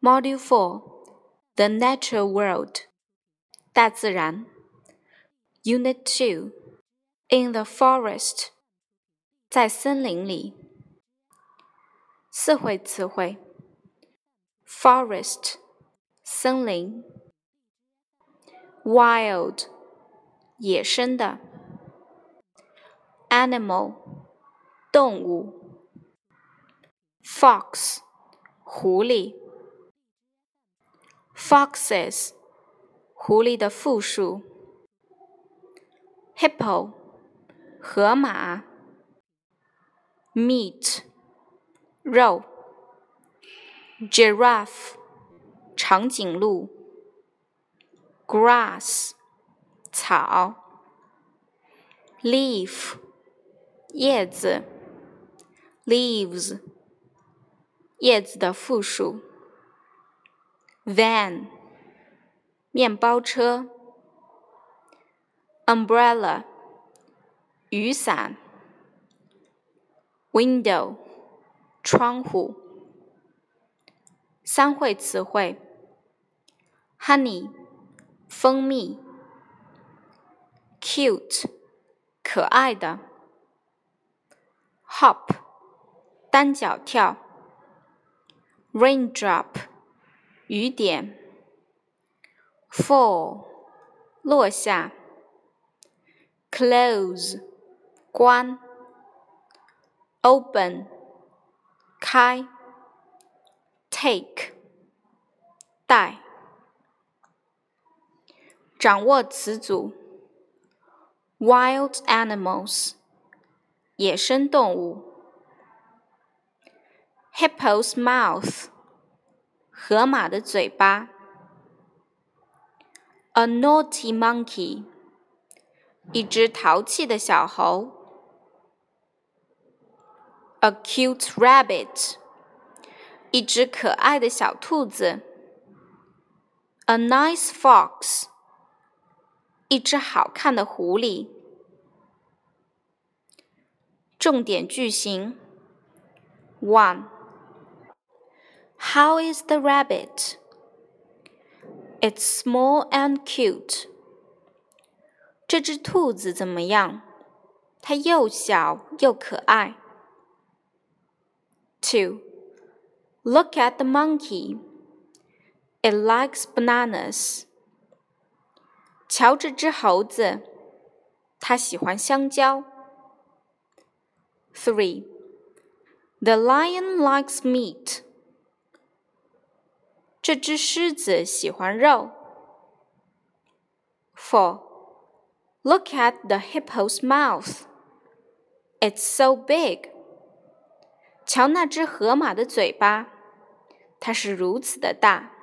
Module 4 The Natural World 大自然 Unit 2 In the Forest 在森林里四会词汇 Forest 森林 Wild 野生的 Animal 动物 Fox 狐狸Foxes 狐狸的复数 Hippo 河马 Meat 肉 Giraffe 长颈鹿 Grass 草 Leaf 叶子 Leaves 叶子的复数Van 面包车 Umbrella 雨伞 Window 窗户三会词汇 Honey 蜂蜜 Cute 可爱的 Hop 单脚跳 Raindrop 雨点 Fall 落下 Close 关 Open 开 Take 带掌握词组 Wild animals 野生动物 Hippo's mouth 河马的嘴巴 A naughty monkey 一只淘气的小猴 A cute rabbit 一只可爱的小兔子 A nice fox 一只好看的狐狸重点句型 1. How is the rabbit? It's small and cute. 这只兔子怎么样？它又小又可爱。2. Look at the monkey. It likes bananas. 瞧这只猴子，它喜欢香蕉。3. The lion likes meat. 这只狮子喜欢肉。4. Look at the hippo's mouth. It's so big. 瞧那只河马的嘴巴，它是如此的大。